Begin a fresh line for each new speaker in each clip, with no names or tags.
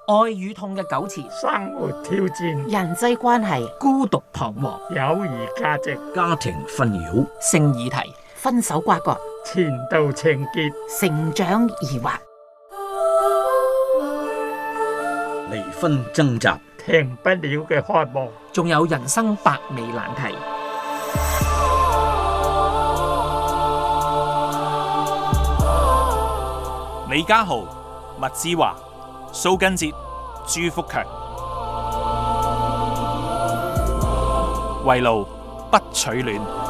愛與痛嘅糾纏，
生活挑戰，
人際關係，
孤獨彷徨，
友誼價值，
家庭紛擾，
性議題，
分手瓜葛，
前度情結，
成長疑惑，
離婚掙扎，
停不了嘅渴望，
仲有人生百味難題。
李家豪、麥之華、蘇根哲、朱福強，圍爐不取暖。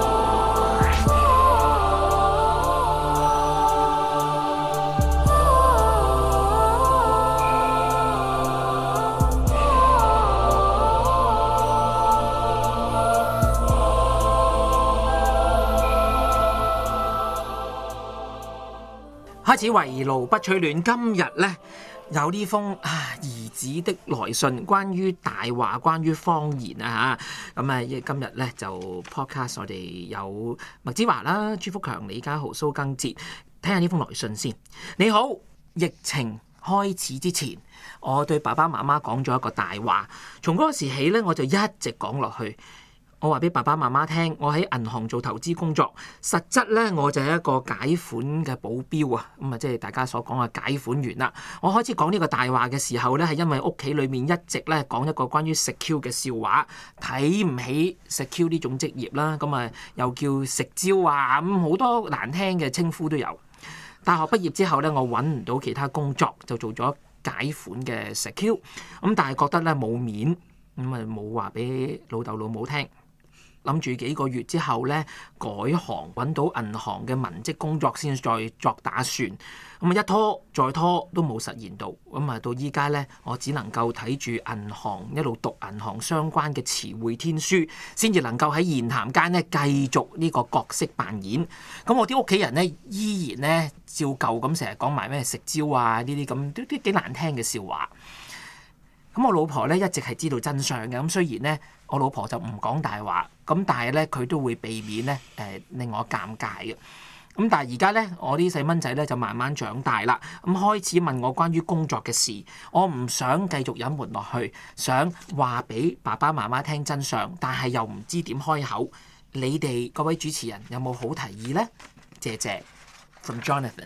開始圍爐不取暖。今日呢，有呢封兒子的來信，關於大話，關於謊言啊嚇。咁今日呢，就 podcast 我哋有麥之華啦、朱福強、李家豪、蘇更哲，睇下呢封來信先。你好，疫情開始之前，我對爸爸媽媽講咗一個大話，從嗰個時起呢，我就一直講落去。我話俾爸爸媽媽聽，我喺銀行做投資工作，實質咧我就係一個解款嘅保鏢啊，咁啊即係大家所講嘅解款員啦。我開始講呢個大話嘅時候咧，係因為屋企裏面一直咧講一個關於食 Q 嘅笑話，睇唔起食 Q 呢種職業啦，咁啊又叫食蕉啊，咁好多難聽嘅稱呼都有。大學畢業之後咧，我揾唔到其他工作，就做咗解款嘅食 Q，咁但係覺得咧冇面，咁啊冇話俾老豆老母聽。諗住幾個月之後咧改行，揾到銀行嘅文職工作先再作打算。咁啊一拖再拖都冇實現到。咁啊到依家咧，我只能夠睇住銀行一路讀銀行相關嘅詞彙天書，先至能夠喺言談間咧繼續呢個角色扮演。咁我啲屋企人咧依然咧照舊咁成日講埋咩食蕉啊呢啲咁都幾難聽嘅笑話。咁我老婆咧一直係知道真相嘅，咁雖然咧我老婆就唔講大話，咁但係咧佢都會避免咧令我尷尬嘅。咁但係而家咧我啲細蚊仔咧就慢慢長大啦，咁開始問我關於工作嘅事，我唔想繼續隱瞞落去，想話俾爸爸媽媽聽真相，但係又唔知點開口。你哋各位主持人有冇好提議呢？謝謝。From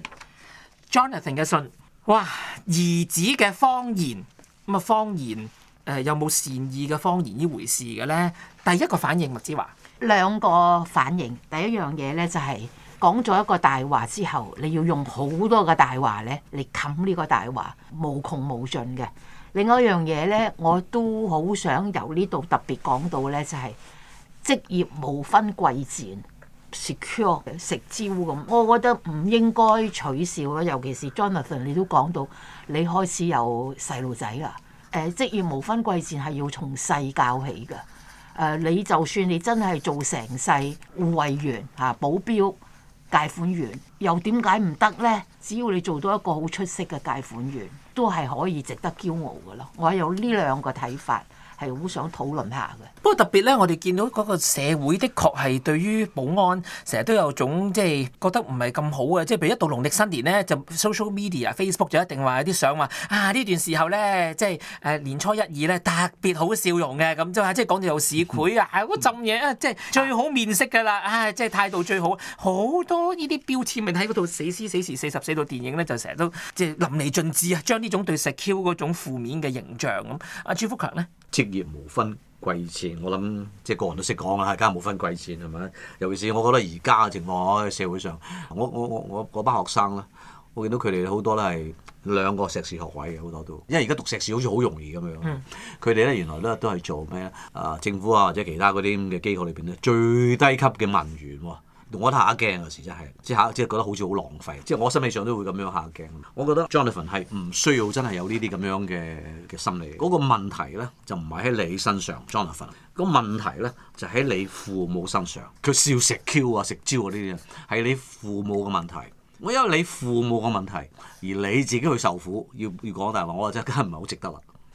Jonathan 嘅信，哇！兒子嘅謊言。咁啊，謊言有冇善意嘅謊言呢回事嘅咧？第一個反應，麥之華
兩個反應。第一樣嘢咧就係講咗一個大話之後，你要用好多個大話咧嚟冚呢個大話，無窮無盡嘅。另外一樣嘢咧，我都好想由呢度特別講到咧，就係職業無分貴賤，secure 食蕉咁，我覺得唔應該取笑咯。尤其是 Jonathan， 你都講到你開始有細路仔啦。職業無分貴賤係要從細教起嘅。你就算你真係做成世護衛員、保鏢、解款員，又點解唔得呢？只要你做到一個好出色嘅解款員，都係可以值得驕傲嘅咯。我有呢兩個睇法。係好想討論下嘅。
不過特別咧，我哋見到嗰個社會的確係對於保安成日都有種即係覺得唔係咁好嘅，即係譬如一到農曆新年咧，就 social media Facebook 就一定話有啲相話呢段時候咧，即係年初一二咧特別好笑容嘅咁，即係講到有市儈嗰陣嘢即係最好面色㗎啦，即係態度最好，好多呢啲標籤咪喺嗰套死屍死時44度電影咧，就成日都即係淋漓盡致啊，將呢種對食 Q 嗰種負面嘅形象咁。阿朱福強咧？
職業無分貴賤，我諗即係個人都識講啦，家無分貴賤係咪？尤其是我覺得而家嘅情況喺社會上，我嗰班學生咧，我見到佢哋好多都係2個碩士學位嘅，好多都，因為而家讀碩士好似好容易咁樣。佢哋咧原來咧都係做咩政府啊或者其他嗰啲咁嘅機構裏邊咧最低級嘅文員喎。我覺得嚇驚有時真係，即係覺得好似好浪費，即係我心理上都會咁樣嚇驚。我覺得 Jonathan 係唔需要真係有呢啲咁樣嘅心理。嗰個問題咧就唔係喺你身上 Jonathan，個問題咧就喺你父母身上。佢笑食 Q 啊食蕉啊呢啲係你父母嘅問題。我因為你父母嘅問題而你自己去受苦，要講大話，我真係唔係好值得啦。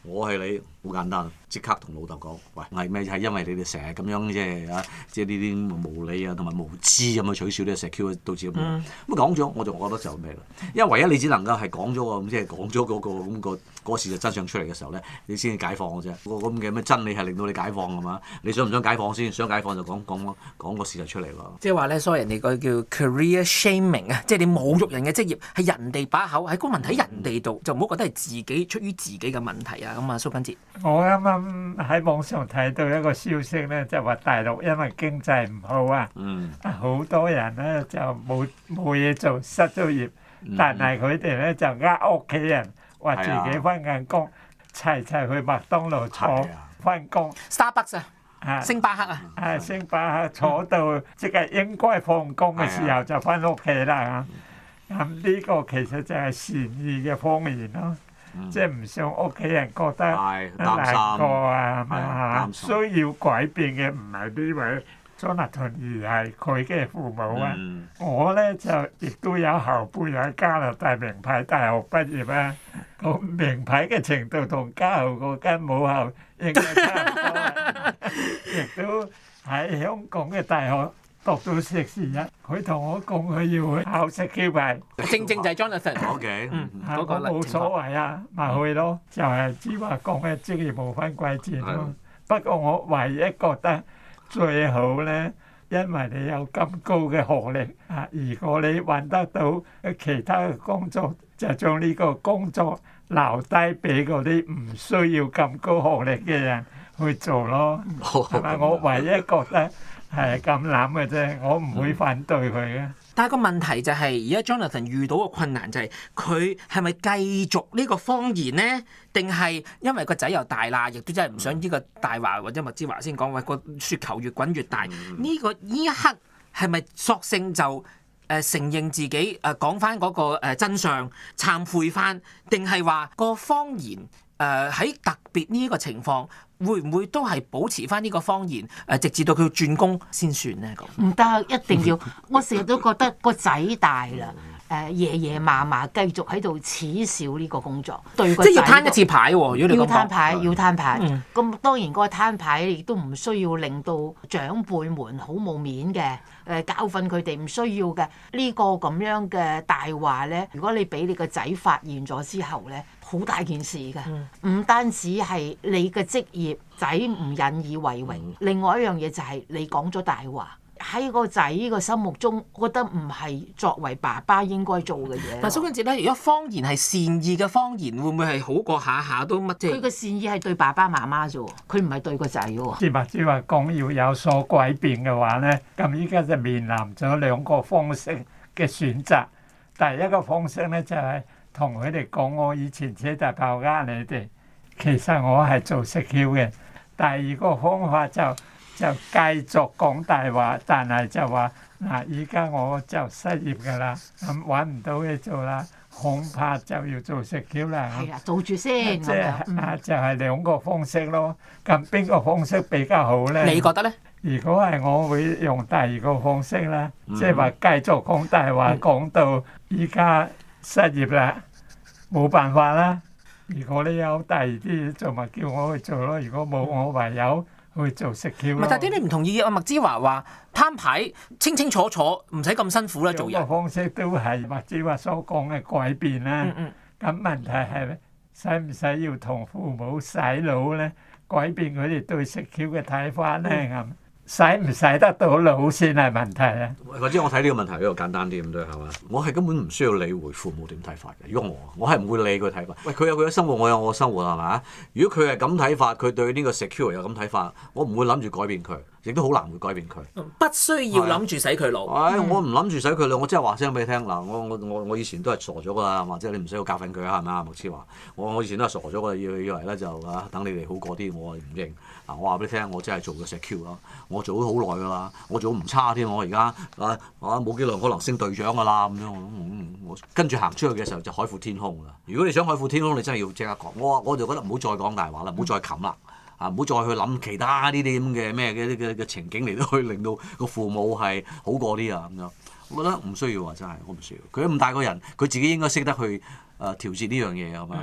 我係你，好簡單，即刻同老豆講，喂，係咩？係因為你哋成日咁樣即係呢啲無理啊同埋無知咁去取笑呢個石 Q 導致咁樣。咁講咗，我就覺得就咩啦？因為唯一你只能夠係講咗個即係講咗嗰個事實真相出嚟嘅時候咧，你先至解放嘅啫。個咁嘅咩真理係令到你解放㗎嘛？你想唔想解放先？想解放就講個事實出嚟咯。
即係話咧，所以人哋個叫 career shaming 啊，即係你侮辱人嘅職業係人哋把口，喺個問題喺人哋度，就唔好覺得係自己出於自己嘅問題啊。咁啊，蘇根哲，
我啱啱喺網上睇到一個消息咧，就話大陸因為經濟唔好啊，好多人咧就冇嘢做，失咗業，但係佢哋咧就屋企人話自己翻緊工，齊齊去麥當勞坐翻工
Starbucks 啊，星巴克啊，
星巴克坐到即係應該放工嘅時候就翻屋企啦。咁呢個其實就係善意嘅方言咯。即係唔想屋企人覺得難過啊，需要改變嘅唔係呢位 Jonathan 而係佢嘅父母啊。我咧就亦都有後輩喺加拿大名牌大學畢業啊，個名牌嘅程度同家豪嗰間母校應該差唔多啊，亦都喺香港嘅大學讀到碩士一，佢同我講佢要去考SQ牌，
正就係 Jonathan。
OK，
嗰個
冇所謂啊，咪去咯，就係只話講嘅職業無分貴賤咯。不過我唯一覺得最好咧，因為你有咁高嘅學歷啊，如果你揾得到其他嘅工作，就將呢個工作留低俾嗰啲唔需要咁高學歷嘅人去做咯。係咪？我唯一覺得係咁諗嘅啫，我唔會反對佢嘅。
但係個問題就係，而家 Jonathan 遇到個困難就係，佢係咪繼續呢個謊言呢？定係因為個仔又大啦，亦都真係唔想呢個大話或者麥之華先講，喂，個雪球越滾越大。呢一刻係咪索性就承認自己講翻嗰個真相，懺悔翻，定係話個謊言喺特別呢個情況？會唔會都係保持翻呢個謊言？直至到佢轉工先算咧？咁
唔得，一定要。我成日都覺得個仔大啦，爺爺嫲嫲繼續喺度恥笑呢個工作，對個仔
即係要攤一次牌喎。如果你咁講，
要攤牌。咁當然嗰個攤牌亦都唔需要令到長輩們好冇面嘅，教訓佢哋唔需要嘅。呢個咁樣嘅大話咧，如果你俾你個仔發現咗之後咧，好大件事㗎。唔單止係你嘅職業仔唔引以為榮，另外一樣嘢就係你講咗大話。喺個仔個心目中，覺得唔係作為爸爸應該做嘅嘢。
但蘇根哲咧，如果謊言係善意嘅謊言，會唔會係好過下下都乜啫？
佢嘅善意係對爸爸媽媽啫喎，佢唔係對個仔喎。
即係話講要有所改變嘅話咧，咁依家就面臨咗兩個方式嘅選擇。第一個方式咧就係同佢哋講，我以前車大炮呃你哋，其實我係做食橋嘅。第二個方法就繼續講大話，但係就話嗱，依家我就失業㗎啦，咁揾唔到嘢做啦，恐怕就要做食橋啦。
係啊，做住先。
即係就係兩個方式咯。咁邊個方式比較好咧？
你覺得咧？
如果係我會用第二個方式啦，即係話繼續講大話，講到依家失業啦，冇辦法啦。如果你有第二啲做，咪叫我去做咯。如果冇，我唯有去做食橋咯。
但係啲你唔同意啊？麥之華話攤牌清清楚楚，唔使咁辛苦啦，做人。
個方式都係麥之華所講嘅改變啦。咁問題係使唔使要同父母洗腦咧？改變佢哋對食橋嘅睇法咧？咁使唔使得到腦先係問題啊？
或者我睇呢個問題比較簡單啲咁多係嘛？我係根本唔需要理會父母點睇法嘅。如果我係唔會理佢睇法。喂，佢有佢嘅生活，我有我嘅生活係嘛？如果佢係咁睇法，佢對呢個 secure 有咁睇法，我唔會諗住改變佢，亦都好難會改變佢。
不需要諗住洗佢腦。
我唔諗住洗佢腦，我真係話聲俾你聽嗱，我以前都係傻咗㗎啦，或者你唔使要教訓佢啊，係咪啊？麥之華，我以前都係傻咗㗎，以為咧就等你哋好過啲，我唔認。我話俾你聽，我真係做咗 secure 咯，我做咗好耐㗎啦，我做唔差添，我而家冇幾耐可能升隊長㗎啦咁樣。我跟住行出去嘅時候就海闊天空啦。如果你想海闊天空，你真係要即刻講。我就覺得唔好再講大話啦，唔好再冚啦。唔好再去諗其他呢啲咁嘅咩嘅情景嚟到去令到個父母係好過啲啊咁樣。我覺得唔需要啊，真係我唔需要。佢咁大個人，佢自己應該識得去調節呢樣嘢係嘛？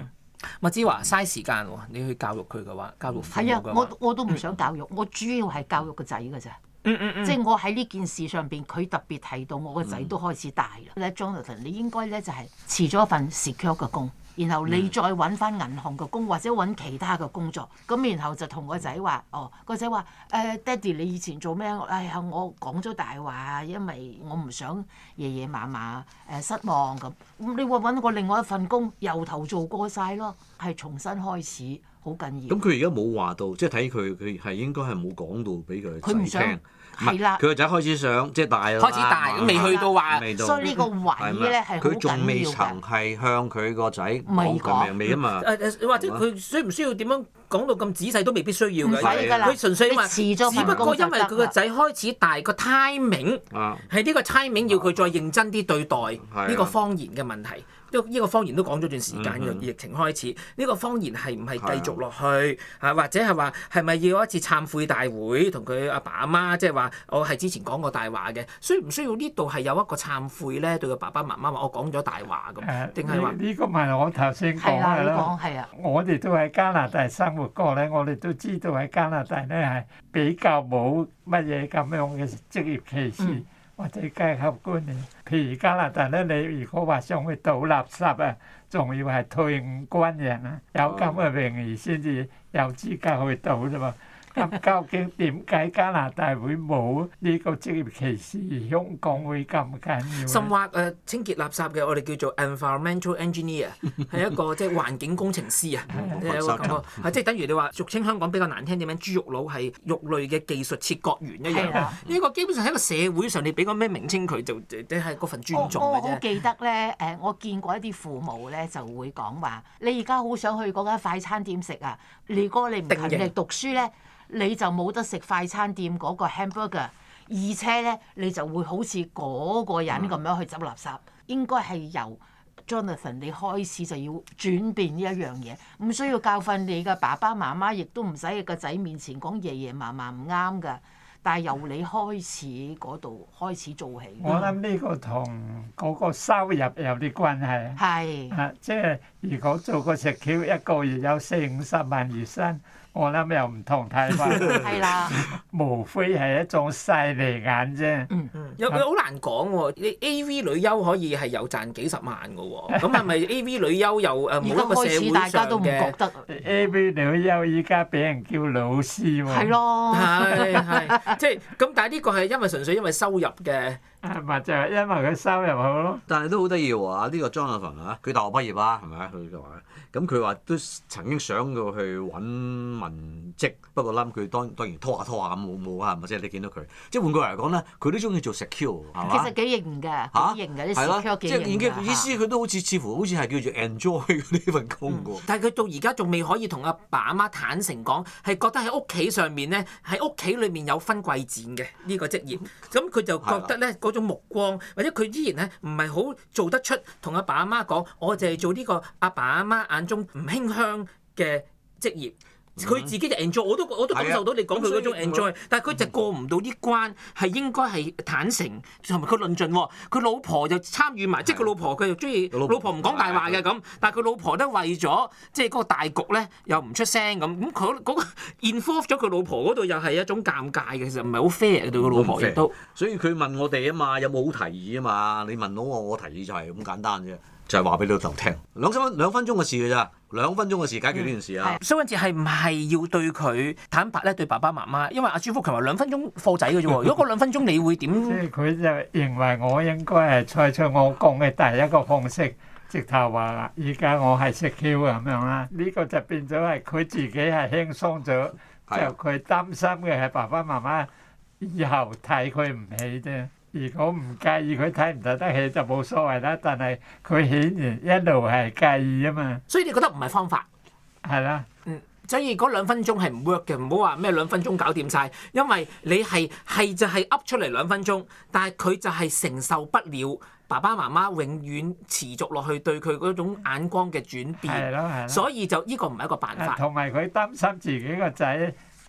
麥之華嘥時間喎，你去教育佢嘅話，教育父母
係啊，
嘅話，
我都唔想教育，我主要係教育個仔㗎咋。即係我喺呢件事上邊，佢特別提到我個仔都開始大啦。咧 Jonathan，你應該咧就係辭咗一份 secure 嘅工，然後你再揾翻銀行嘅工或者揾其他嘅工作。咁然後就同個仔話：個仔話爹哋你以前做咩？哎呀，我講咗大話，因為我唔想爺爺嫲嫲失望咁。咁你話揾個另外一份工，由頭做過晒咯，係重新開始，好緊要。
咁佢而家冇話到，即係睇佢係應該係冇講到俾佢
佢唔想
仔聽。
係啦，
佢個仔開始想即係大啦，
開始大未去到話，
所以呢個位咧係好
佢仲未
緊要
曾
㗎。
係向佢個仔講
未講
佢未啊嘛。
或者佢需唔需要點樣講到咁仔細都未必需要嘅。
唔使㗎啦，
佢純粹話，
你辭咗
只不過因為佢個仔開始大，個 timing
啊，
係呢個 timing 要佢再認真啲對待
啊
呢個謊言嘅問題。呢個謊言都講咗段時間嘅疫情開始，呢個謊言係唔係繼續落去或者係話係咪要有一次懺悔大會同佢阿爸阿媽，即係話我係之前講過大話嘅，需唔需要呢度係有一個懺悔咧？對個爸爸媽媽話我講咗大話咁，定係話
呢個咪我頭先講
係啦，你
嘅咯。
講係啊。
我哋都喺加拿大生活過咧，我哋都知道喺加拿大咧係比較冇乜嘢咁樣嘅職業歧視。或者階級觀念，譬如加拿大咧，你如果話想去倒垃圾啊，仲要係退伍軍人啊，有咁嘅榮譽先至有資格去倒啫嘛。咁究竟點解加拿大會冇呢個職業歧視，而香港會咁緊要？
甚或清潔垃圾嘅，我哋叫做 environmental engineer， 係一個即係環境工程師啊。有個感覺即係等於你話俗稱香港比較難聽點樣，豬肉佬係肉類嘅技術切割員一樣。呢個基本上喺個社會上，你俾個咩名稱佢就即係嗰份尊重嘅啫。
我好記得咧，我見過一啲父母咧就會講話：你而家好想去嗰間快餐店食啊！如果你唔勤力讀書咧，你就冇得食快餐店嗰個 hamburger， 而且咧你就會好似嗰個人咁樣去執垃圾。應該係由 Jonathan 你開始就要轉變呢一樣嘢，唔需要教訓你嘅爸爸媽媽，亦都唔使喺個仔面前講爺爺嫲嫲唔啱㗎。但係由你開始嗰度開始做起。
我諗呢個同嗰個收入有啲關係。
係。
即係如果做個食 Q 一個月有40-50萬月薪，我諗又唔同睇法。
係啦。
無非係一種勢利眼啫。
有好難講喎，你 A.V. 女優可以係有賺幾十萬嘅喎，咁係咪 A.V. 女優又冇一個社會
大家都唔
上嘅
覺得。
A.V. 女優依家俾人叫老師喎。
係咯。
係即係咁，但係呢個係因為純粹因為收入嘅。
咪就係因為佢收入好咯。
但係都好得意喎！呢個 Jonathan 啊，佢大學畢業啦，係咪啊？佢就話，咁佢話都曾經想過去揾文職，不過諗佢當然拖下咁冇啊，係咪先？你見到佢，即係換句嚟講咧，佢都中意做 secure 係嘛？
其實幾型㗎，幾型㗎啲 secure 幾型㗎。
即係意思佢都好似乎好似係叫做 enjoy 呢份工㗎。
但係佢到而家仲未可以同阿爸阿媽坦誠講，係覺得喺屋企上面咧，喺屋企裏面有分貴賤嘅呢個職業，咁佢就覺得咧種目光，或者佢依然咧唔係好做得出同阿爸阿媽講，我就係做呢個阿爸阿媽眼中唔馨香嘅職業。佢自己就 enjoy，我都感受到你講佢嗰種 enjoy，但係佢就過唔到啲關，係應該係坦誠同埋佢論盡喎。佢老婆就參與埋，即係佢老婆佢又中意，老婆唔講大話嘅咁，但係佢老婆都為咗即係嗰個大局咧，又唔出聲咁佢嗰個 involve 咗佢老婆嗰度，又係一種尷尬嘅，其實唔係好 fair 對個老婆亦都。
所以佢問我哋啊嘛，有冇好提議啊嘛？你問到我提議就係咁簡單啫。就係話俾老豆聽，2分鐘嘅事㗎咋，2分鐘嘅事解決呢件事啊！
蘇根治係唔係要對佢坦白咧？對爸爸媽媽，因為阿朱福強話2分鐘貨仔嘅啫喎。如果嗰2分鐘你會點？
即係佢就認為我應該係採取我講嘅第一個方式，直頭話啦，而家我係食 Q 咁樣啦。呢個就變咗係佢自己係輕鬆咗，就佢擔心嘅係爸爸媽媽以後睇佢唔起啫。如果唔介意佢睇唔睇得起就冇所謂啦，但係佢顯然一路係介意啊嘛。
所以你覺得唔係方法？
係啦。
所以嗰2分鐘係唔 work 嘅，唔好話咩2分鐘搞掂晒，因為你係就係噏出嚟2分鐘，但係佢就係承受不了爸爸媽媽永遠持續落去對佢嗰種眼光嘅轉變。
係咯。
所以就呢個唔係一個辦法。
同埋佢擔心自己個仔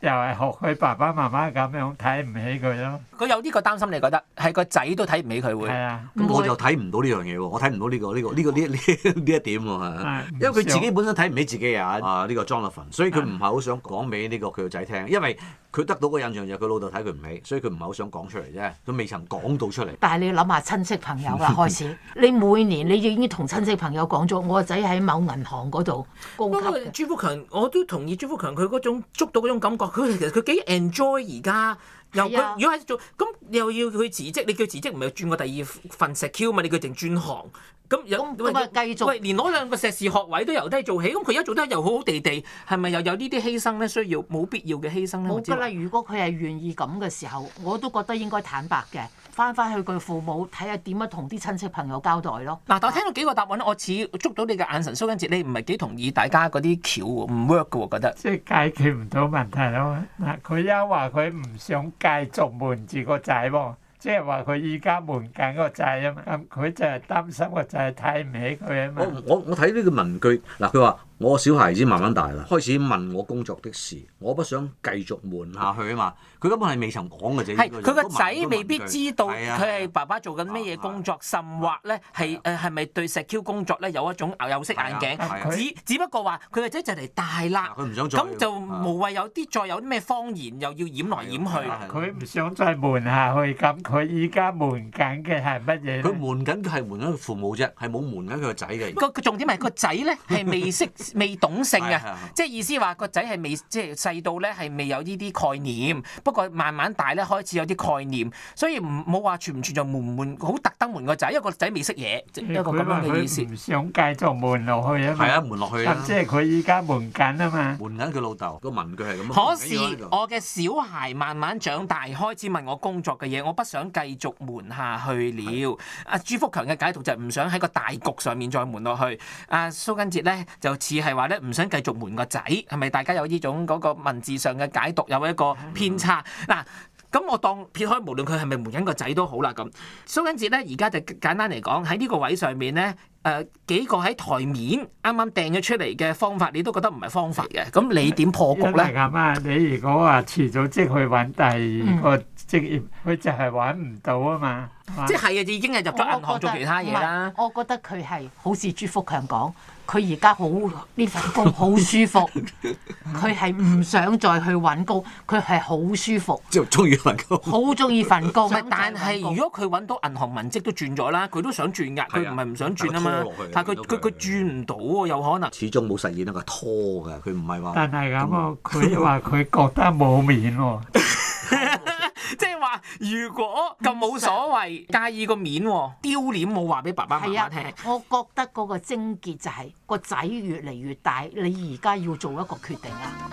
又係學佢爸爸媽媽咁樣睇唔起佢咯。
佢有呢個擔心，你覺得係個仔都睇唔起佢會？
係啊，
咁我就睇唔到呢樣嘢喎，我睇唔到呢一點喎，因為佢自己本身睇唔起自己啊呢個 Jonathan， 所以佢唔係好想講俾呢個佢個仔聽，因為佢得到個印象就係佢老豆睇佢唔起，所以佢唔係好想講出嚟啫，佢未曾講到出嚟。
但係你要諗下親戚朋友啦，開始你每年你已經同親戚朋友講咗，我個仔喺某銀行嗰度高級嘅。
朱福強，我都同意朱福強佢嗰種捉到嗰種感覺，佢其實佢幾 enjoy 而家。又佢如果喺做咁，又要佢辭職，你叫辭職唔係轉個第二份 secure 嘛？你叫淨轉行咁
咁啊繼續
喂，連攞兩個碩士學位都由低做起，咁佢而家做得又好好地地，係咪又有呢啲犧牲咧？需要冇必要嘅犧牲咧？
冇㗎啦！如果佢係願意咁嘅時候，我都覺得應該坦白嘅，翻去佢父母睇下點樣同啲親戚朋友交代咯。
嗱，但我聽到幾個答案咧，我似捉到你嘅眼神，蘇根哲，你唔係幾同意大家嗰啲橋唔 work 嘅喎，覺得
即係解決唔到問題咯。嗱，佢又話佢唔想繼續瞞住個仔喎。即係話佢依家瞞緊個仔啊嘛，咁佢就係擔心個仔睇唔起佢啊嘛。
我睇呢個文句嗱，佢話我小孩子慢慢大啦，開始問我工作的事，我不想繼續瞞下去啊嘛。佢根本係未曾講嘅啫。係佢個仔
未必知道佢係爸爸做緊咩嘢工作，甚或咧係咪對石 Q 工作咧有一種有色眼鏡？只不過話佢個仔就嚟大啦，
佢唔想再
咁就無謂有啲再有啲咩謊言又要掩來掩去。
佢唔想再瞞下去咁。佢依家瞞緊嘅係乜嘢？
佢瞞緊嘅係瞞緊佢父母啫，係冇瞞緊佢個仔嘅。
個重點係個仔咧係未懂性啊，即係意思話個仔係未即係細到咧係未有呢啲概念，不過慢慢大咧開始有啲概念，所以冇話存唔存在瞞好特登瞞個仔，因為個仔未識嘢，一個咁樣嘅意思。
佢唔想繼續瞞落去啊嘛。
係啊，瞞落去啊。
即係佢依家瞞緊啊嘛。
瞞緊佢老豆個文句係咁。
可是我嘅小孩慢慢長大，開始問我工作嘅嘢，我不想繼續瞞下去了。阿朱福強嘅解讀就係唔想喺個大局上面再瞞落去。阿蘇根哲咧就似係話咧唔想繼續瞞個仔，係咪大家有呢種嗰個文字上嘅解讀有一個偏差？嗱，咁我當撇開無論佢係咪瞞緊個仔都好啦。咁蘇根哲咧而家就簡單嚟講喺呢個位上面咧。幾個喺台面啱啱掟咗出嚟嘅方法，你都覺得唔係方法嘅，咁你點破局咧？
係咁啊！你如果話辭咗職去揾第二個職業，佢就係揾唔到啊嘛。
即係已經係入咗銀行做其他嘢啦。
我覺得佢係好似朱福強講，佢而家好呢份工好舒服，佢係唔想再去揾工，佢係好舒服，
即係中意份工，
好中意份工。
但係如果佢揾到銀行文職都轉咗啦，佢都想轉㗎，佢唔係唔想轉啊嘛。但係佢轉唔到喎，有可能。
始終冇實現一個拖㗎，佢唔係話。
但係咁喎，佢話佢覺得冇面喎。
即係話，如果咁冇所謂，介意個面喎，丟臉冇話俾爸爸媽媽聽。
我覺得嗰個症結就係個仔越嚟越大，你而家要做一個決定啊！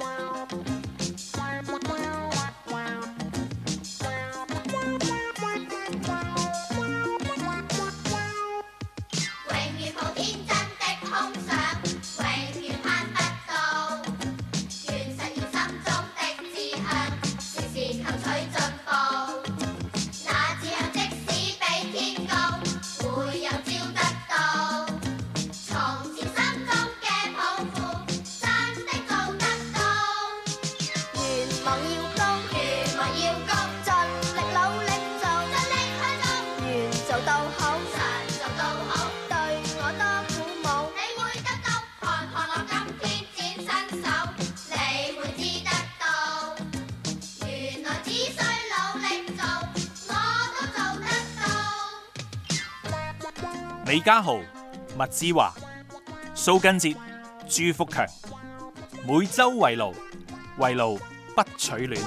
李家豪、麥之華、蘇根哲、朱福強，每周圍爐，圍爐不取暖。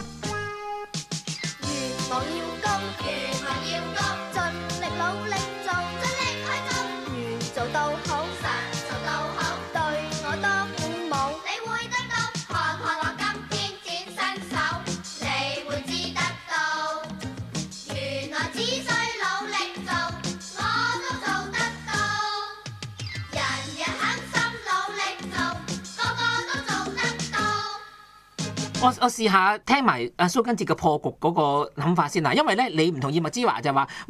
我試下聽埋阿蘇根哲嘅破局嗰個諗法先啦，因為咧你唔同意麥之華就話，喂，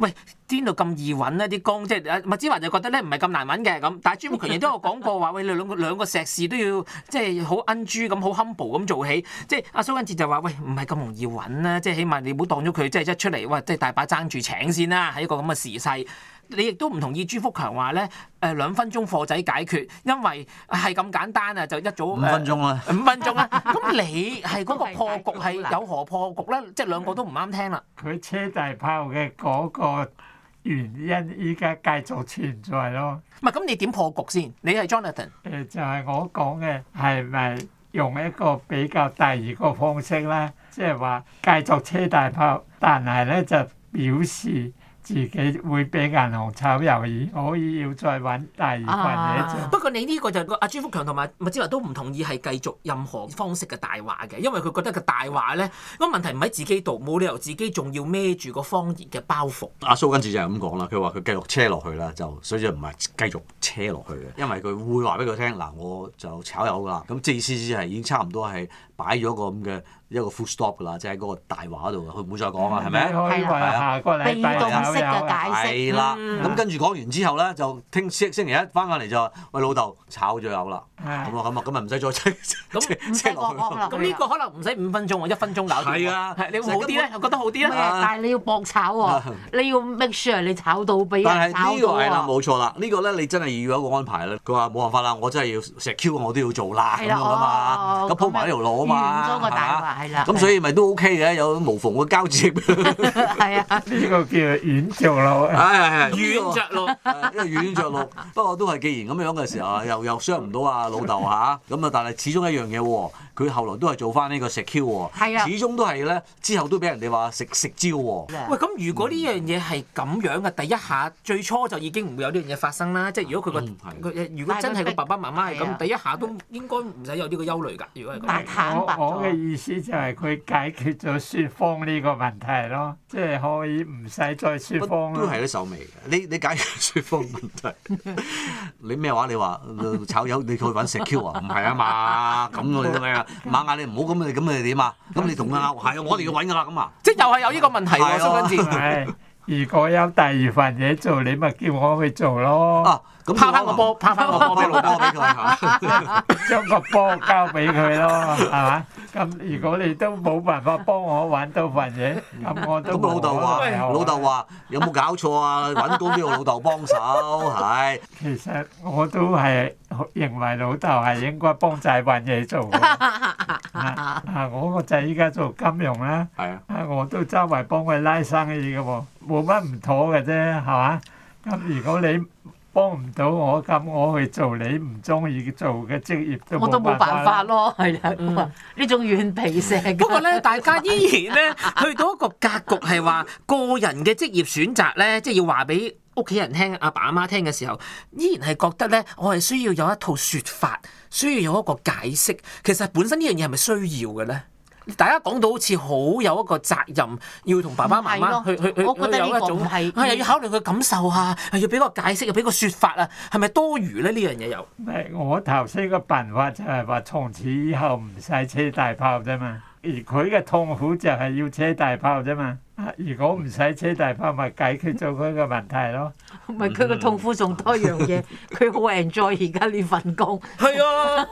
邊度咁易揾呢啲工？即係麥子華就覺得咧唔係咁難揾嘅咁，但係朱福強亦都有講過話，喂，你兩個碩士都要即係好恩豬咁，好 humble 咁做起。即係阿蘇根哲就話，喂，唔係咁容易揾啦，即係起碼你唔好當咗佢即係一出嚟，哇，即係大把爭住請先啦，喺一個咁嘅時勢。你亦都唔同意朱福強話咧，2分鐘貨仔解決，因為係咁簡單啊，就一早
5分鐘啦
，5分鐘啦。咁你係嗰個破局係有何破局咧？即係兩個都唔啱聽啦。
佢車大炮嘅嗰個原因依家繼續存在咯。
唔係咁，你點破局先？你係 Jonathan。
就係我講嘅係咪用一個比較第二個方式咧？即係話繼續車大炮，但係咧就表示自己會俾銀行炒魷魚，可以要再揾第二份嘢做。
不過你呢個就阿朱福強同埋麥之華都唔同意係繼續任何方式嘅大話嘅，因為佢覺得個大話咧，個問題唔喺自己度，冇理由自己仲要孭住個謊言嘅包袱。
阿蘇根治就係咁講啦，佢話佢繼續車落去啦，就所以就唔係繼續車落去嘅，因為佢會話俾佢聽嗱，我就炒魷㗎啦。咁即係意思係已經差唔多係擺咗個咁嘅一個 full stop 㗎啦，即係喺嗰個大話度，佢唔會再講啦，係咪？
係啊，下個禮拜
被動式嘅解釋。
係啦，咁跟住講完之後咧，就星期一翻返嚟就話：喂，老豆炒咗魷啦！咁咪唔使再車落去。
咁呢個可能唔使5分鐘喎，1分鐘搞掂。
係啊，
你會好啲咧？我覺得好啲咧。
但係你要搏炒喎，你要 make sure 你炒到俾人
但係
炒到
呢個係啦，
喎。
冇錯啦，呢個咧你真係要有一個安排啦。佢話冇辦法啦，我真係要secure我都要做啦咁樣啊嘛，咁鋪埋呢條路啊嘛，
預咗個大話係啦。
咁所以咪都 OK 嘅，有無縫嘅交接。
係啊，
呢個叫軟着陸。
係
軟着陸，
因為軟着陸。不過都係既然咁樣嘅時候，又傷唔到啊老豆嚇，咁啊但係始終一樣嘢喎，佢後來都係做翻呢個secure喎，
係啊
始終都係咧之後都俾人哋話食蕉喎。
喂，咁如果呢樣嘢係咁樣嘅，第一下最初就已經唔會有呢樣嘢發生啦。即係如果佢如果真係個爸爸媽媽係咁，第一下都應該唔使有呢個憂慮㗎。如果係咁，
坦白咗
我嘅意思就係佢解決咗説謊呢個問題咯，即係可以唔使再説謊咯。
都係啲手尾嘅。你解決説謊問題，你咩話？你話炒魷你去揾secure啊？唔係啊嘛，咁我哋做咩啊？馬眼你唔好咁，你點啊？咁你同佢拗係啊，我哋要揾㗎啦咁啊！
即係又係有呢個問題喎，蘇根治。
係，如果有第二份嘢做，你咪叫我去做咯。
咁
拋翻個波，拋翻個波俾老豆。
俾佢嚇。
將個波交俾佢咯，係嘛？咁如果你都冇辦法幫我揾到份嘢，咁我都
咁老豆話有冇搞錯啊？揾工都要老豆幫手，係。
其實我都係認為老豆係應該幫仔揾嘢做嘅。我個仔依家做金融啦，我都周圍幫佢拉生意嘅喎，冇乜唔妥嘅啫，係嘛？咁如果你幫唔到我，咁我去做你唔中意做嘅職業
我都冇辦法咯，係啦，呢種軟皮蛇。
不過咧，大家依然咧去到一個格局係話個人嘅職業選擇咧，即係要話俾屋企人聽、阿爸阿媽聽嘅時候，依然係覺得咧，我係需要有一套説法，需要有一個解釋。其實本身呢樣嘢係咪需要嘅咧？大家講到好似好有一個責任，要同爸爸媽媽去
我覺得呢個唔係
又要考慮佢感受啊，要俾個解釋，要俾個説法啊，係咪多餘咧？呢樣嘢又
我頭先個辦法就係話從此以後唔使車大炮啫嘛，而佢嘅痛苦就係要車大炮啫嘛。如果唔使車大炮，咪解決咗佢個問題咯。
唔係佢個痛苦仲多樣嘢，佢好 enjoy 而家呢份工。
係啊。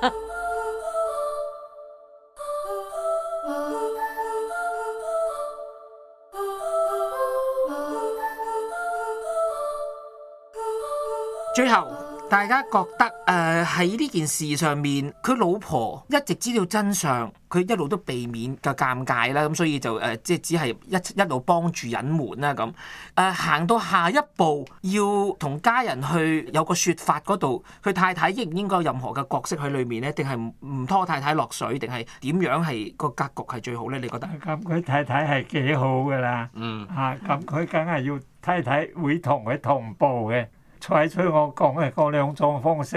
最後，大家覺得喺呢件事上面，佢老婆一直知道真相，佢一路都避免嘅尷尬啦，咁所以就即係只係一路幫住隱瞞啦咁。行到下一步，要同家人去有個説法嗰度，佢太太應唔應該有任何嘅角色喺裏面咧？定係唔拖太太落水？定係點樣係個格局係最好咧？你覺得？
咁佢太太係幾好㗎啦。咁佢梗係要太太會同佢同步嘅。採取我講嘅嗰兩種方式，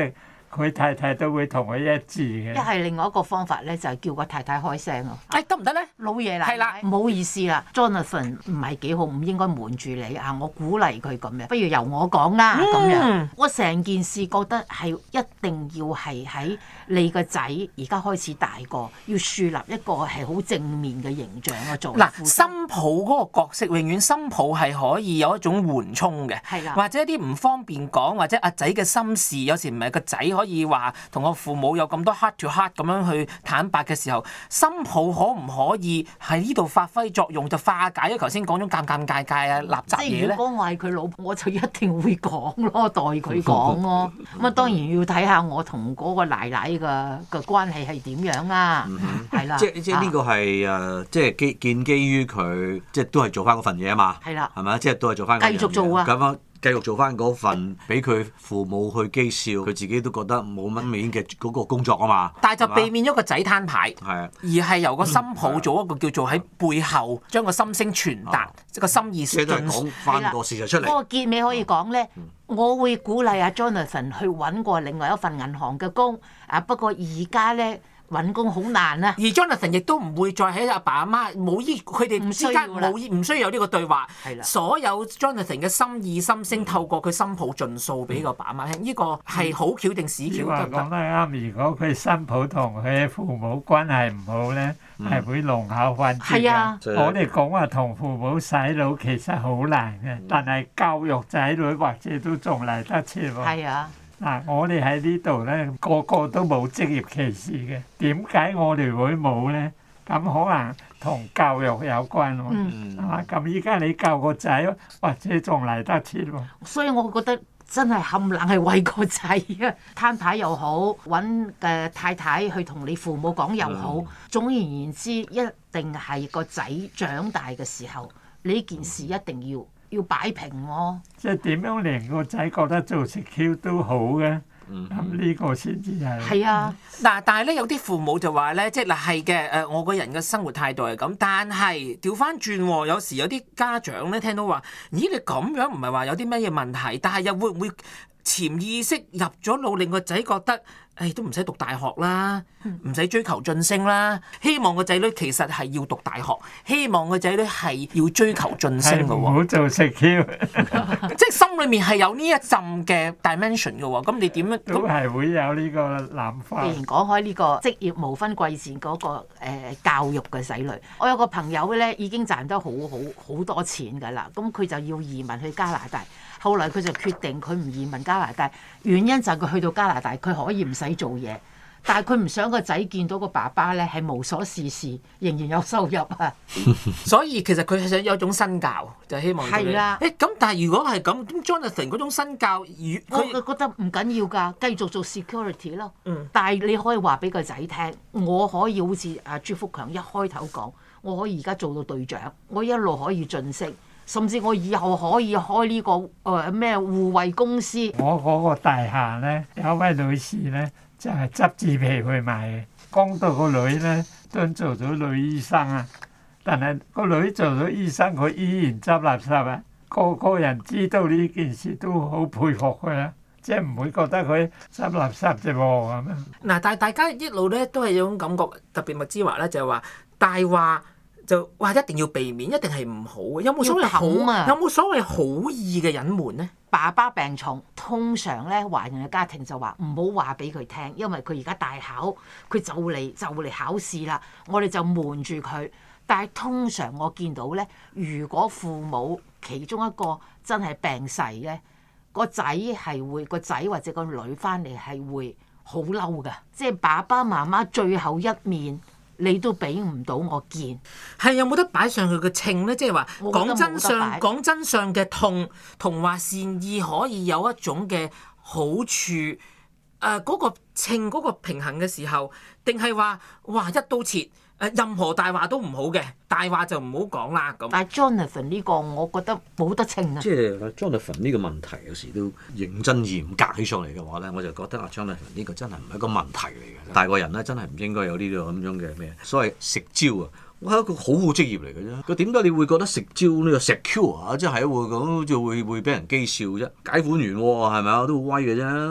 佢太太都會同佢一致嘅。
一係另外一個方法咧，就係叫個太太開聲咯。
得唔得咧？
老爺奶
係啦
奶，唔好意思啦，Jonathan 唔係幾好，唔應該瞞住你啊！我鼓勵佢咁樣，不如由我講啦咁樣。我成件事覺得係一定要係喺你個仔而家開始大個，要樹立一個係好正面嘅形象啊！做
嗱，新抱嗰個角色，永遠新抱係可以有一種緩衝嘅，
係啦
或者一啲唔方便講，或者阿仔嘅心事，有時唔係個仔可以話同個父母有咁多 heart to heart 咁樣去坦白嘅時候，新抱可唔可以喺呢度發揮作用，就化解咗頭先講咗尷尷尬尬啊、垃圾嘢咧？
即係如果我係佢老婆，我就一定會講咯，代佢講咯。咁啊，當然要睇下我同嗰個奶奶嘅關係係點樣啊，係啦。
即係呢個係即係建基於佢，即係都係做翻嗰份嘢啊嘛。
係啦，
係咪？即係都係做翻。
繼續做啊！
咁樣繼續做翻嗰份，俾佢父母去譏笑，佢自己都覺得冇乜面嘅嗰個工作啊嘛。
但係就避免咗個仔攤牌，
係啊，
而係由個新抱做一個叫做喺背後將個心聲傳達，即係個心意
即係都係
盡
講翻個事實出嚟。
嗰個結尾可以講咧，我會鼓勵阿 Jonathan 去揾過另外一份銀行嘅工啊。不過而家咧揾工好難啊。
而 Jonathan 亦都唔會再喺阿爸阿媽冇佢哋之間唔需要有呢個對話。
係啦，
所有 Jonathan 嘅心意心聲透過佢新抱盡數俾個爸阿媽聽，呢個係好巧定屎
你
巧得唔得？
話講得啱，如果佢新抱同佢嘅父母關係唔好咧，係會弄巧反拙
係啊，
我哋講話同父母洗腦其實好難嘅，但係教育仔女或者都仲嚟得切喎。
係啊。
嗱，我哋喺呢度咧，個個都冇職業歧視嘅。點解我哋會冇咧？咁可能同教育有關喎，係嘛？咁依家你教個仔，或者仲嚟得切喎。
所以我覺得真係冚冷係為個仔啊，攤牌又好，揾太太去同你父母講又好，總而言之，一定係個仔長大嘅時候，呢件事一定要擺平喎。
即係點樣令個仔覺得做食 Q 都好嘅？咁呢個先至係。
係啊，
嗱，但係咧有啲父母就話咧，即係嗱係嘅，我個人嘅生活態度係咁，但係調翻轉喎，有時有啲家長咧聽到話，咦你咁樣唔係話有啲咩嘢問題，但係又會唔會潛意識入咗腦，令個仔覺得，都唔使讀大學啦，唔使追求晉升啦，希望個仔女其實係要讀大學，希望個仔女係要追求晉升嘅
唔
喎，
好做食 Q，
即係心裏面係有呢一陣嘅 dimension 嘅喎，咁你點樣？
都係會有呢個諗法。
既然講開呢個職業無分貴賤嗰個教育嘅仔女，我有個朋友咧已經賺得好多錢㗎啦，咁佢就要移民去加拿大。後來佢就決定佢唔移民加拿大，原因就係佢去到加拿大，佢可以唔使做嘢，但係佢唔想個仔見到個爸爸咧係無所事事，仍然有收入啊。
所以其實佢係想有一種身教，就希望
係啦。
咁但係如果係咁，Jonathan 嗰種身教，
我覺得唔緊要㗎，繼續做 security 咯。
嗯。
但係你可以話俾個仔聽，我可以好似阿朱福強一開頭講，我可以而家做到隊長，我一路可以晉升。甚至我以後可以開呢個咩護衛公司。
我嗰個大廈咧，有位女士咧，就係執紙皮去賣嘅。講到個女咧都做咗女醫生啊，但係個女做咗醫生，佢依然執垃圾啊。個人知道呢件事都好佩服佢啦，即係唔會覺得佢執垃圾啫喎咁樣。
嗱，但係大家一路咧都係有種感覺，特別麥之華咧就係話大話。就話一定要避免，一定係唔好嘅。有冇所謂好啊？有冇所謂好意嘅隱瞞咧？
爸爸病重，通常咧華人嘅家庭就話唔好話俾佢聽，因為佢而家大考，佢就嚟考試啦。我哋就瞞住佢。但係通常我見到咧，如果父母其中一個真係病逝咧，個仔或者個女翻嚟係會好嬲㗎，即係爸爸媽媽最後一面。你都俾唔到我見，
係有冇得擺上去嘅稱咧？即係話講真相嘅痛，同話善意可以有一種嘅好處。嗰個稱嗰個平衡嘅時候，定係話哇一刀切？任何大話都唔好嘅，大話就唔好講啦咁。
但係 Jonathan 呢個，我覺得冇得稱啊。
即係 Jonathan 呢個問題，有時都認真嚴格起上嚟嘅話咧，我就覺得Jonathan 呢個真係唔係一個問題嚟嘅。大個人咧真係唔應該有呢個咁樣嘅咩？所謂食蕉啊，我係一個好好職業嚟嘅啫。佢點解你會覺得食蕉呢個 secure 啊？即係會咁就會俾人譏笑啫？解款員喎係咪啊？都好威嘅啫。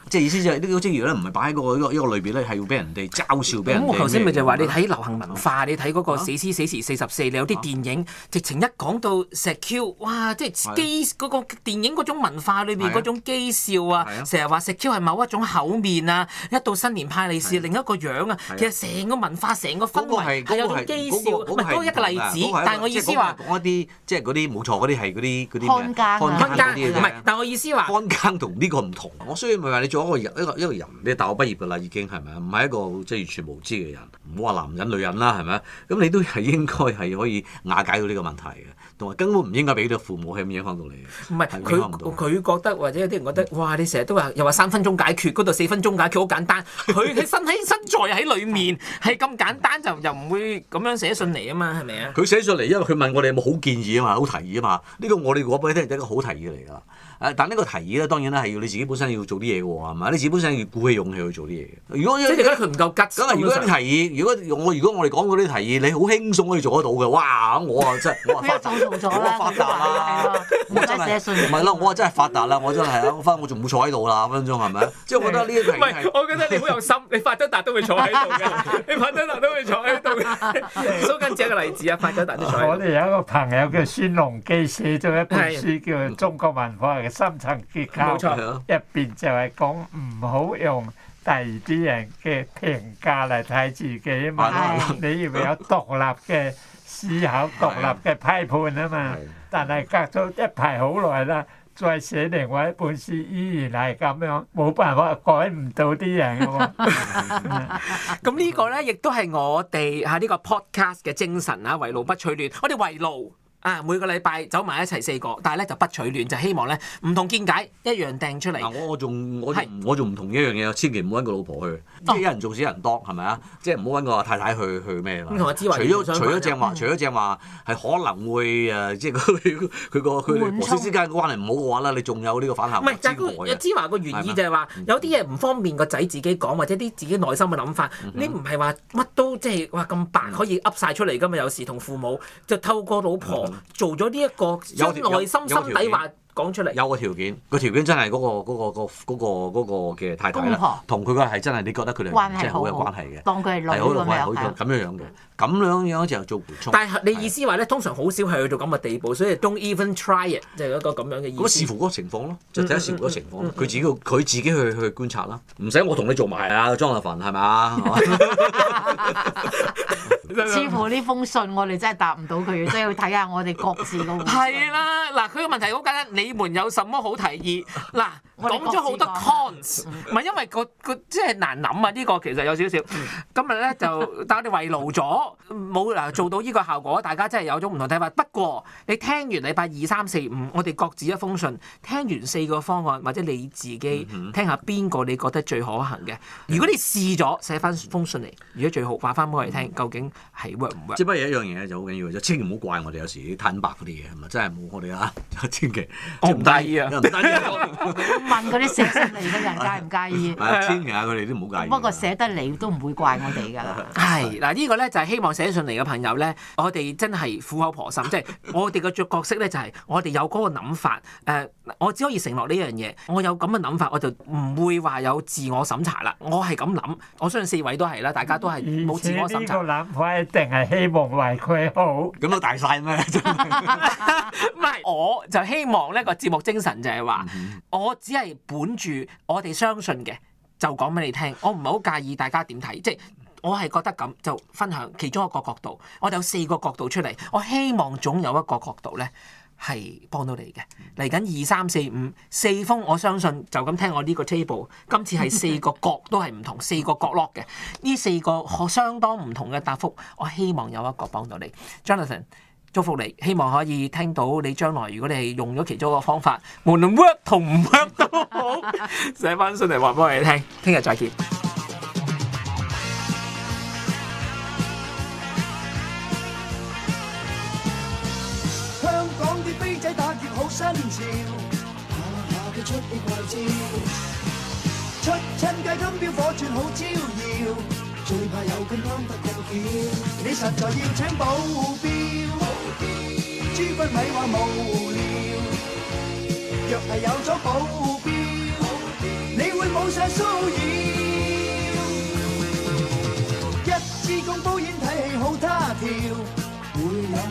即係意思就係呢個職業咧，唔係擺喺一個類別咧，係要俾人哋嘲笑，俾人哋。
咁我頭先咪就話你睇流行文化，你睇嗰個死屍死時44，你有啲電影直情一講到石 Q， 哇！即係機嗰個電影嗰種文化裏邊嗰種譏笑啊，成日話石 Q 係某一種口面啊，一到新年派利是另一個樣啊，其實成個文化成個氛圍係有種譏笑，唔係嗰個一個例子，但係我意思話
講一啲即係嗰啲冇錯，嗰啲係嗰啲
看更
看更唔係，但係我意思話
看更同呢個唔同。我雖然咪話你做一個人，你大學畢業㗎啦已經係咪啊？唔係一個即係完全無知嘅人，唔好話男人女人啦係咪啊？咁你都係應該係可以瓦解到呢個問題嘅，同埋根本唔應該俾到父母係咁影響到你嘅。
唔係佢覺得，或者有啲人覺得，哇！你成日都話又話3分鐘解決，嗰度4分鐘解決好簡單。佢身在喺裡面係咁簡單，就又唔會咁樣寫信嚟啊嘛，係咪啊？
佢寫上嚟，因為佢問我哋有冇好建議啊嘛，好提議啊嘛。呢個我哋講俾你聽係一個好提議嚟㗎。但呢個提議咧，當然咧係要你自己本身要做啲嘢嘅喎，係咪？你自己本身要鼓起勇氣去做啲嘢嘅。如果
即係你覺得佢唔夠吉，
咁如果啲提議，如果我哋講嗰啲提議，你好輕鬆可以做得到嘅，哇！我啊真係我發達啦，我真係唔係咯，我真係發達啦，我真係啊，我仲冇坐喺度啦，分分鐘係咪？即係我覺得呢一個
唔係，我覺得你好有心，你發咗達都會坐喺度嘅，你發咗達都會坐喺度嘅。蘇根只一個例子啊，發咗達都坐喺度。
我哋有一個朋友叫孫隆基，寫咗一本書叫《中國文化嘅深層結構》，入邊就係講唔好用第二啲人嘅評價嚟睇自己啊嘛，你要有獨立嘅思考、獨立嘅批判啊嘛。但係隔咗一排好耐啦，再寫另外一本書，依然係咁樣，冇辦法改唔到啲人嘅喎。
咁呢個咧，亦都係我哋呢個 podcast 嘅精神啊，圍爐不取暖。我哋圍爐。每個禮拜走埋一齊4個，但係咧就不取暖，就希望咧唔同見解一樣掟出嚟。
我仲唔同一樣嘢，千祈唔好揾個老婆去，即係一人做少人當，係咪啊？即係唔好揾個太太去咩啦。
同阿芝華，
除咗正話係可能會即係佢和諧之間嘅關係唔好嘅話咧，你仲有呢個反效果之外嘅。唔係，
芝華個原意就係話有啲嘢唔方便個仔自己講，或者啲自己內心嘅諗法，你唔係話乜都即係話咁白可以噏晒出嚟㗎嘛？有時同父母就透過老婆。做咗呢一個將內心心底話講出嚟，
有個條件，個條件真係嗰個嘅太太啦，同佢個係真係你覺得佢哋真係好有關係嘅，
當佢係女
咁樣嘅，咁樣就做緩衝。
但係你意思話咧，通常好少係去到咁嘅地步，所以 don't even try it，就係一個咁樣嘅意思。
咁視乎嗰個情況咯，就睇下視乎嗰個情況，佢自己去觀察啦，唔使我同你做埋啊，莊立凡係咪啊？
似乎呢封信我哋真係答唔到佢，真係要睇下我哋各自個。
係啦，嗱，佢個問題好簡單，你們有什麼好提議？嗱，講咗好多 cons，唔係因為個即係難諗啊！呢個其實有少少。今日咧就但我哋圍爐咗，冇做到呢個效果，大家真係有種唔同睇法。不過你聽完禮拜2、3、4、5，我哋各自一封信，聽完4個方案，或者你自己聽下邊個你覺得最可行嘅。如果你試咗寫翻封信嚟，如果最好話翻俾我哋聽，究竟係 work 唔 work？
即係不過有一樣嘢就好緊要，就千祈唔好怪我哋有時啲坦白嗰啲嘢，係咪真係冇我哋啊？千祈
我唔介意啊！
問嗰啲寫信嚟嘅人介唔介意？
千祈啊，佢哋都唔好介意。
不過寫得嚟都唔會怪我哋㗎啦。
係嗱，呢個咧就係希望寫信嚟嘅朋友咧，我哋真係苦口婆心，即係我哋嘅角色咧就係我哋有嗰個諗法。我只可以承諾呢樣嘢，我有咁嘅諗法，我就唔會話有自我審查啦。我係咁諗，我相信4位都係啦，大家都係冇自我審查。
呢個諗法一定係希望為佢好。
咁都大晒咩？
唔係，我就希望呢個節目精神就係話，我只係本住我哋相信嘅，就講俾你聽。我唔係好介意大家點睇，即係我係覺得咁就分享其中一個角度。我哋有4個角度出嚟，我希望總有一個角度咧係幫到你嘅。嚟緊2、3、4、5 4封，我相信就咁聽我呢個 table， 今次係4個角都係唔同，4個角落嘅呢4個相當唔同嘅答覆，我希望有一個幫到你 ，Jonathan。祝福你，希望可以聽到你將來，如果你係用咗其中一個方法，無論 work 同唔 work 都好，寫翻信嚟話俾我哋聽。聽日再見。
香港啲飛仔打劫好新潮，下嘅出氣怪招，出親街金標火鑽好招搖，最怕有咁啱得過橋，你實在要請保鏢。諸君咪話無聊，若係有咗保鏢，你會冇晒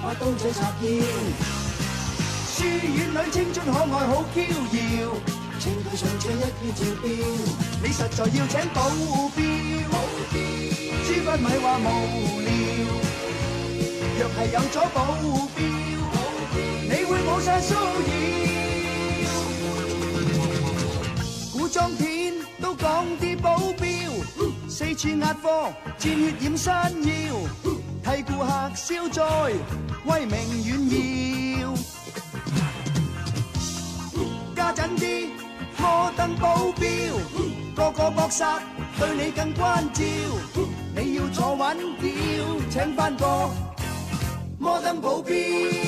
把刀仔插腰。書院裏青春可愛好嬌耀，青隊上車一於照標。你實在要請保鏢，諸君咪話無聊。若係有咗保鏢，你會冇晒騷擾。古裝片都講啲保鏢，四處壓貨，戰血染山腰，替顧客消災，威名遠耀。加緊啲摩登保鏢，個個搏殺對你更關照。你要坐穩轎，請返個摩登保鏢。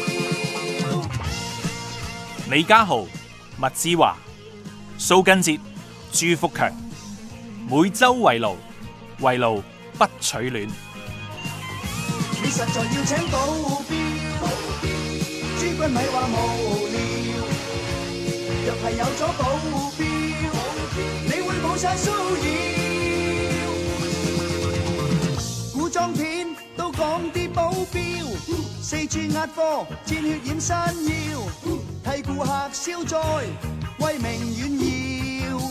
李家豪、麥之華、蘇根哲、朱福強，每周圍爐，圍爐不取暖。
你實在要請保鏢，諸君咪話無聊。若係有咗保鏢，你會冇晒騷擾。古裝片都講啲保鏢，四處壓貨，戰血染山腰，替顧客消災，威名遠耀。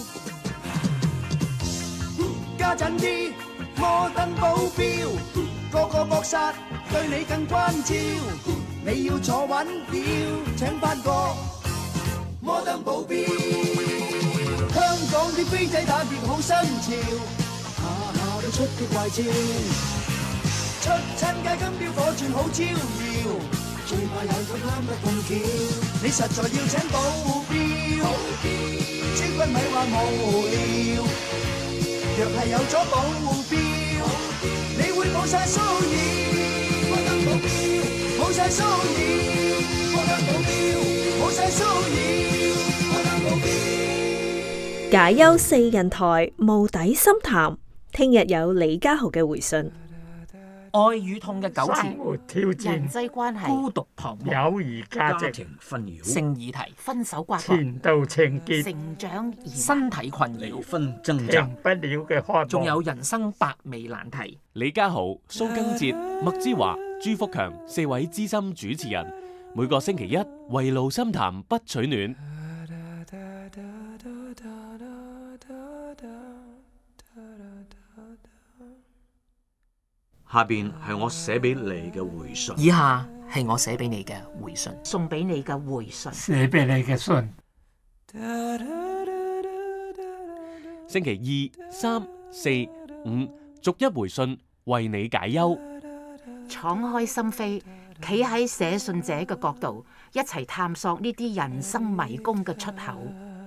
加緊啲摩登保鏢，個個搏殺對你更關照。你要坐穩轎，請返個摩登保鏢。香港啲飛仔打劫好新潮，下下都出啲怪招。出親街金標火鑽好招搖，最怕有佢貪得咁巧。你實在要請保鏢，諸君咪話無聊。若係有咗保鏢，你會冇晒騷擾。摩登保鏢，冇晒騷擾。摩登保鏢，冇晒騷擾。摩登保鏢。
解憂四人台無底深談，聽日有李家豪嘅回信。
愛與痛嘅糾
生
纏，
活挑
人
戰，
際關係、
孤獨彷徨，
友誼價值，
家庭紛擾、
性議題，
分手刮割、
前度情結，
成長疑難、
身體困
離
擾，
婚掙扎
停。不了嘅渴望，
仲有人生百味難題。
李家豪、蘇根哲、麥之華、朱福強四位資深主持人，每個星期一圍爐深談不取暖。
下邊係我寫俾你嘅回信。
以下係我寫俾你嘅回信。
送俾你嘅回信。
寫俾你嘅信。
星期二、三、四、五，逐一回信，為你解憂。
敞開心扉，企喺寫信者嘅角度，一齊探索呢啲人生迷宮嘅出口。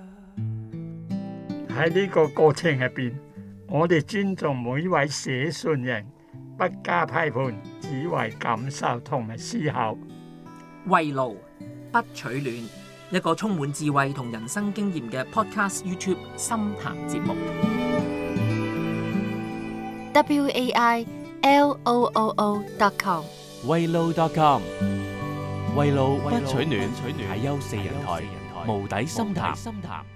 喺呢個過程入邊，我哋尊重每一位寫信人，不加批判，只為感受同埋思考。
圍爐不取暖，一個充滿智慧同人生經驗嘅 Podcast YouTube 深談節目。
WAILOOO.com
圍爐.com 圍爐不取暖，解憂四人台無底深談。